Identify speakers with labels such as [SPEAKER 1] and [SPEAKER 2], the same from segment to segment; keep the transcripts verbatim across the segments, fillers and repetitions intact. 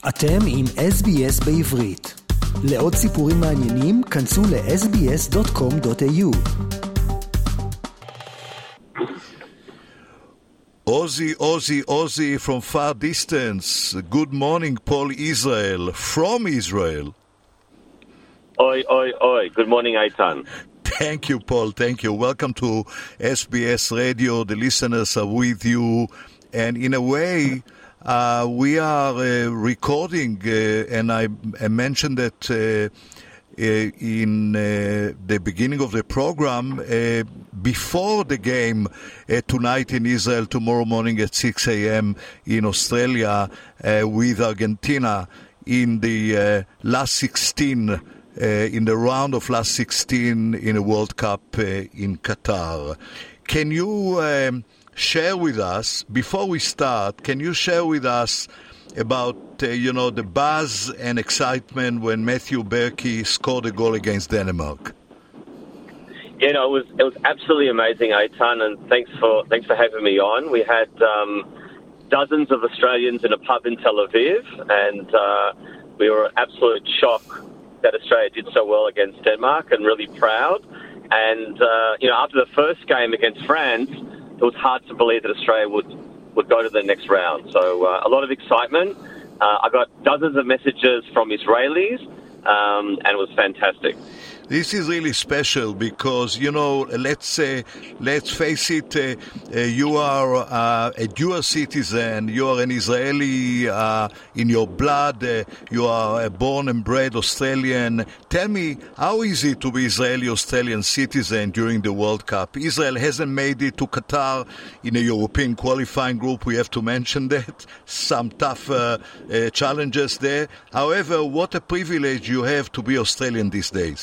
[SPEAKER 1] אתם עם אס בי אס בעברית. לעוד סיפורים מעניינים, כנסו ל-אס בי אס דוט קום דוט איי יו.
[SPEAKER 2] Ozzy, Ozzy, Ozzy from far distance. Good morning, Paul Israel, from Israel.
[SPEAKER 3] Oi, oi, oi. Good morning, Eitan.
[SPEAKER 2] Thank you, Paul. Thank you. Welcome to S B S Radio. The listeners are with you. And in a way, uh, we are uh, recording, uh, and I, I mentioned that uh, uh, in uh, the beginning of the program, uh, before the game uh, tonight in Israel, tomorrow morning at six a.m. in Australia, uh, with Argentina in the uh, last sixteen Uh, in the round of last sixteen in a World Cup uh, in Qatar. Can you um, share with us, before we start, can you share with us about, uh, you know, the buzz and excitement when Matthew Berkey scored a goal against Denmark?
[SPEAKER 3] Yeah, no, it was it was absolutely amazing, Eitan, and thanks for thanks for having me on. We had um, dozens of Australians in a pub in Tel Aviv, and uh, we were absolute shock that Australia did so well against Denmark, and really proud. And, uh, you know, after the first game against France, it was hard to believe that Australia would, would go to the next round. So uh, a lot of excitement. Uh, I got dozens of messages from Israelis, um, and it was fantastic.
[SPEAKER 2] This is really special because, you know, let's uh, let's face it, uh, uh, you are uh, a dual citizen, you are an Israeli uh, in your blood, uh, you are a born and bred Australian. Tell me, how is it to be Israeli-Australian citizen during the World Cup? Israel hasn't made it to Qatar in a European qualifying group, we have to mention that. Some tough uh, uh, challenges there. However, what a privilege you have to be Australian these days.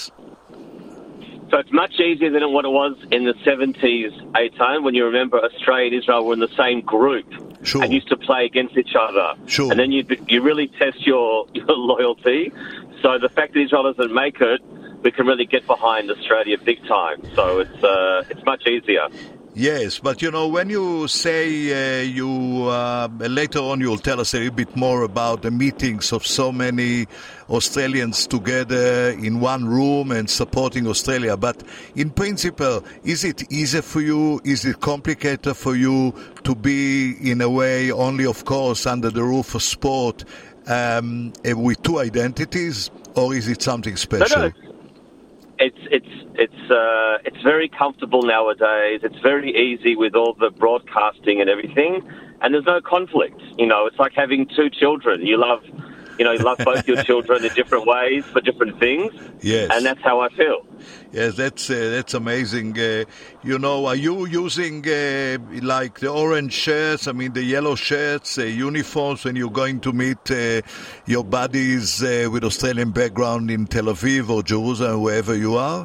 [SPEAKER 3] So it's much easier than what it was in the seventies, Eitan, when you remember Australia and Israel were in the same group.
[SPEAKER 2] Sure.
[SPEAKER 3] And used to play against each other.
[SPEAKER 2] Sure.
[SPEAKER 3] And then you you really test your, your loyalty. So the fact that Israel doesn't make it, we can really get behind Australia big time. So it's uh, it's much easier.
[SPEAKER 2] Yes, but you know, when you say uh, you, uh, later on you'll tell us a little bit more about the meetings of so many Australians together in one room and supporting Australia, but in principle, is it easier for you, is it complicated for you to be in a way only, of course, under the roof of sport um, with two identities, or is it something special?
[SPEAKER 3] No, no. It's it's it's uh, it's very comfortable nowadays. It's very easy with all the broadcasting and everything, and there's no conflict. You know, it's like having two children. You love, you know, you love both your children in different ways for different things.
[SPEAKER 2] Yes,
[SPEAKER 3] and that's how I feel.
[SPEAKER 2] Yes, that's uh, that's amazing. Uh, you know, are you using uh, like the orange shirts? I mean, the yellow shirts, uh, uniforms when you're going to meet uh, your buddies uh, with Australian background in Tel Aviv or Jerusalem, wherever you are?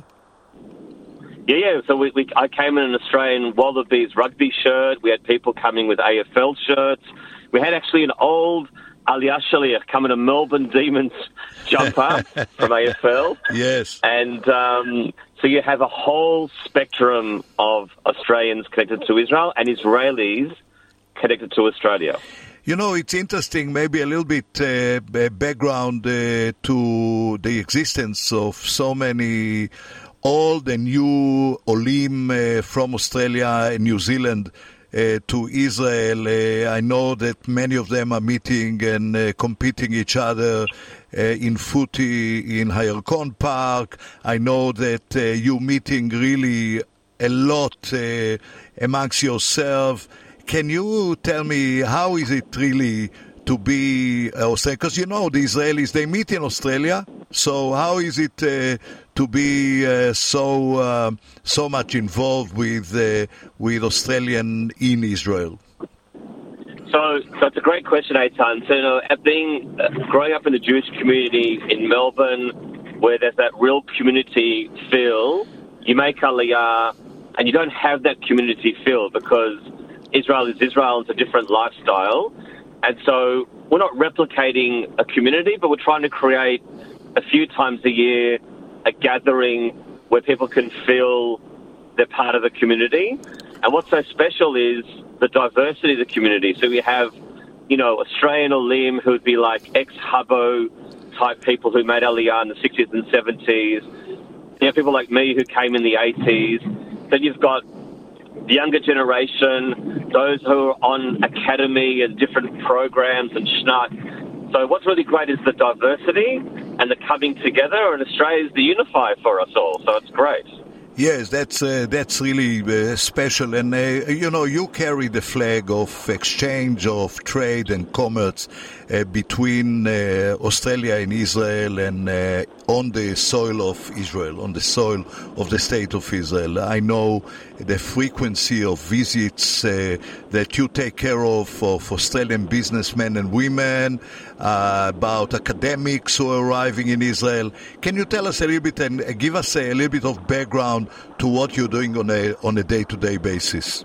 [SPEAKER 3] Yeah, yeah. So we, we I came in an Australian Wallabies rugby shirt. We had people coming with A F L shirts. We had actually an old Aliyah Shaliach coming to Melbourne Demons jumper from A F L.
[SPEAKER 2] Yes.
[SPEAKER 3] And um, so you have a whole spectrum of Australians connected to Israel and Israelis connected to Australia.
[SPEAKER 2] You know, it's interesting, maybe a little bit uh, background uh, to the existence of so many old and new Olim uh, from Australia and New Zealand Uh, to Israel. Uh, I know that many of them are meeting and uh, competing each other uh, in footy in Hayarkon Park. I know that uh, you're meeting really a lot uh, amongst yourself. Can you tell me how is it really to be Australian? Because you know the Israelis, they meet in Australia. So how is it uh, to be uh, so uh, so much involved with uh, with Australian in Israel?
[SPEAKER 3] So, so it's a great question, Eitan. So, you know, being uh, growing up in the Jewish community in Melbourne, where there's that real community feel, you make Aliyah, and you don't have that community feel because Israel is Israel. It's a different lifestyle, and so we're not replicating a community, but we're trying to create a few times a year a gathering where people can feel they're part of the community. And what's so special is the diversity of the community. So we have you know, Australian Olim who would be like ex-Hubbo type people who made Aliyah in the sixties and seventies. You have people like me who came in the eighties. Then you've got the younger generation, those who are on academy and different programs and schnock. So what's really great is the diversity and the coming together, and Australia is the unifier for us all, so it's great.
[SPEAKER 2] Yes, that's uh, that's really uh, special, and uh, you know, you carry the flag of exchange of trade and commerce uh, between uh, Australia and Israel, and uh, on the soil of Israel, on the soil of the state of Israel. I know the frequency of visits uh, that you take care of of Australian businessmen and women, uh, about academics who are arriving in Israel. Can you tell us a little bit and give us a, a little bit of background to what you're doing on a on a day-to-day basis?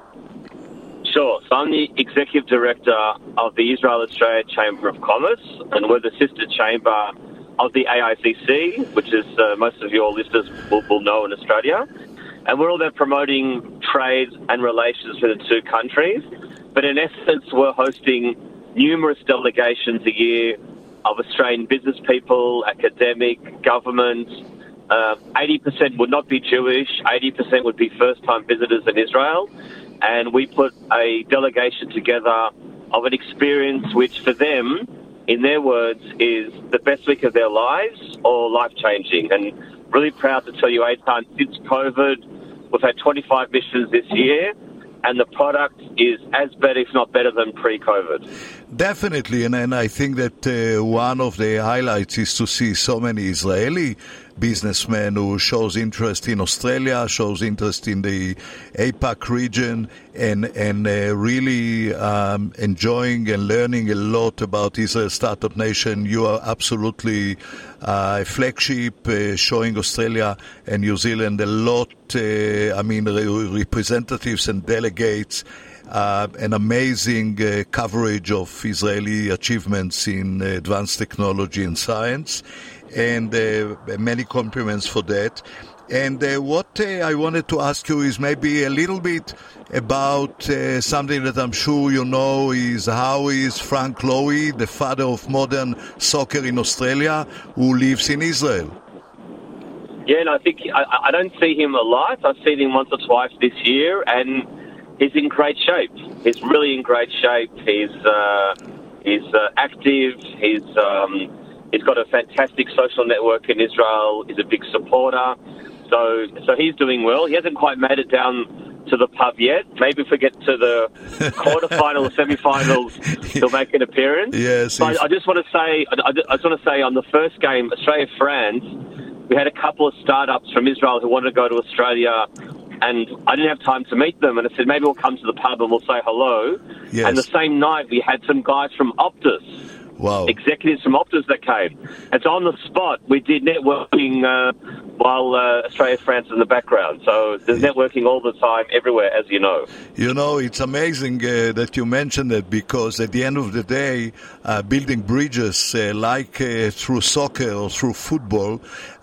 [SPEAKER 3] Sure. So I'm the Executive Director of the Israel-Australia Chamber of Commerce, and we're the sister chamber of the A I C C, which is uh, most of your listeners will, will know in Australia. And we're all there promoting trade and relations with the two countries. But in essence, we're hosting numerous delegations a year of Australian business people, academic, government. Uh, eighty percent would not be Jewish, eighty percent would be first-time visitors in Israel, and we put a delegation together of an experience which for them, in their words, is the best week of their lives or life-changing. And really proud to tell you, Eitan, since COVID, we've had twenty-five missions this year, and the product is as better, if not better, than pre-COVID.
[SPEAKER 2] Definitely, and, and I think that uh, one of the highlights is to see so many Israeli businessmen who shows interest in Australia, shows interest in the APAC region, and and uh, really um, enjoying and learning a lot about Israel Startup Nation. You are absolutely uh, a flagship, uh, showing Australia and New Zealand a lot. Uh, I mean, re- representatives and delegates. Uh, an amazing uh, coverage of Israeli achievements in uh, advanced technology and science, and uh, many compliments for that. And uh, what uh, I wanted to ask you is maybe a little bit about uh, something that I'm sure you know, is how is Frank Lowy, the father of modern soccer in Australia, who lives in Israel?
[SPEAKER 3] Yeah, and I think I, I don't see him a lot. I've seen him once or twice this year, and he's in great shape. He's really in great shape. He's uh, he's uh, active. He's um, he's got a fantastic social network in Israel. He's a big supporter. So so he's doing well. He hasn't quite made it down to the pub yet. Maybe if we get to the quarterfinal or semi-finals, he'll make an appearance.
[SPEAKER 2] Yes.
[SPEAKER 3] But I just want to say, I just want to say, on the first game, Australia-France, we had a couple of startups from Israel who wanted to go to Australia. And I didn't have time to meet them. And I said, maybe we'll come to the pub and we'll say hello.
[SPEAKER 2] Yes.
[SPEAKER 3] And the same night, we had some guys from Optus.
[SPEAKER 2] Wow.
[SPEAKER 3] Executives from Optus that came. And so on the spot, we did networking uh, while uh, Australia, France in the background. So there's networking all the time, everywhere, as you know.
[SPEAKER 2] You know, it's amazing uh, that you mentioned it, because at the end of the day, uh, building bridges uh, like uh, through soccer or through football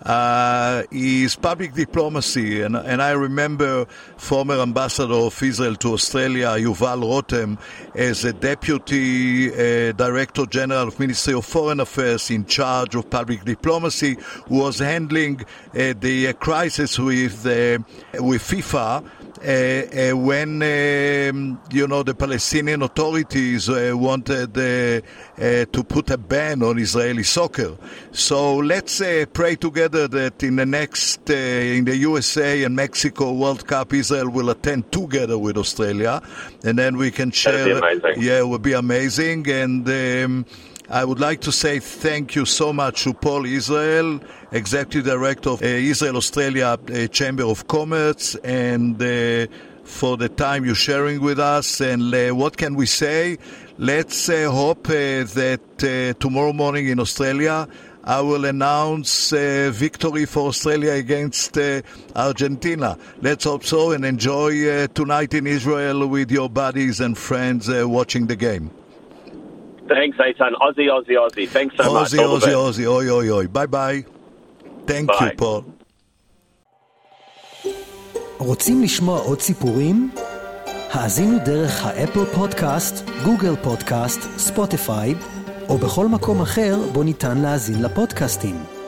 [SPEAKER 2] uh, is public diplomacy. And, and I remember former ambassador of Israel to Australia, Yuval Rotem, as a deputy uh, director general of Ministry of Foreign Affairs in charge of public diplomacy, who was handling uh, the uh, crisis with uh, with FIFA uh, uh, when um, you know the Palestinian authorities uh, wanted uh, uh, to put a ban on Israeli soccer. So let's uh, pray together that in the next uh, in the U S A and Mexico World Cup, Israel will attend together with Australia, and then we can share.
[SPEAKER 3] That'd be amazing.
[SPEAKER 2] Yeah, it would be amazing. And um, I would like to say thank you so much to Paul Israel, Executive Director of uh, Israel-Australia uh, Chamber of Commerce, and uh, for the time you're sharing with us. And uh, what can we say? Let's uh, hope uh, that uh, tomorrow morning in Australia, I will announce uh, victory for Australia against uh, Argentina. Let's hope so, and enjoy uh, tonight in Israel with your buddies and friends uh, watching the game.
[SPEAKER 3] Thanks, Eitan. Aussie, Aussie, Aussie. Thanks so much.
[SPEAKER 2] Aussie, Aussie, Aussie. Oi, oi, oi. Bye-bye. Thank
[SPEAKER 3] Bye.
[SPEAKER 2] you, Paul.
[SPEAKER 1] רוצים לשמוע עוד סיפורים? האזינו דרך האפל פודקאסט, גוגל פודקאסט, ספוטיפיי, או בכל מקום אחר בו ניתן להאזין לפודקאסטים.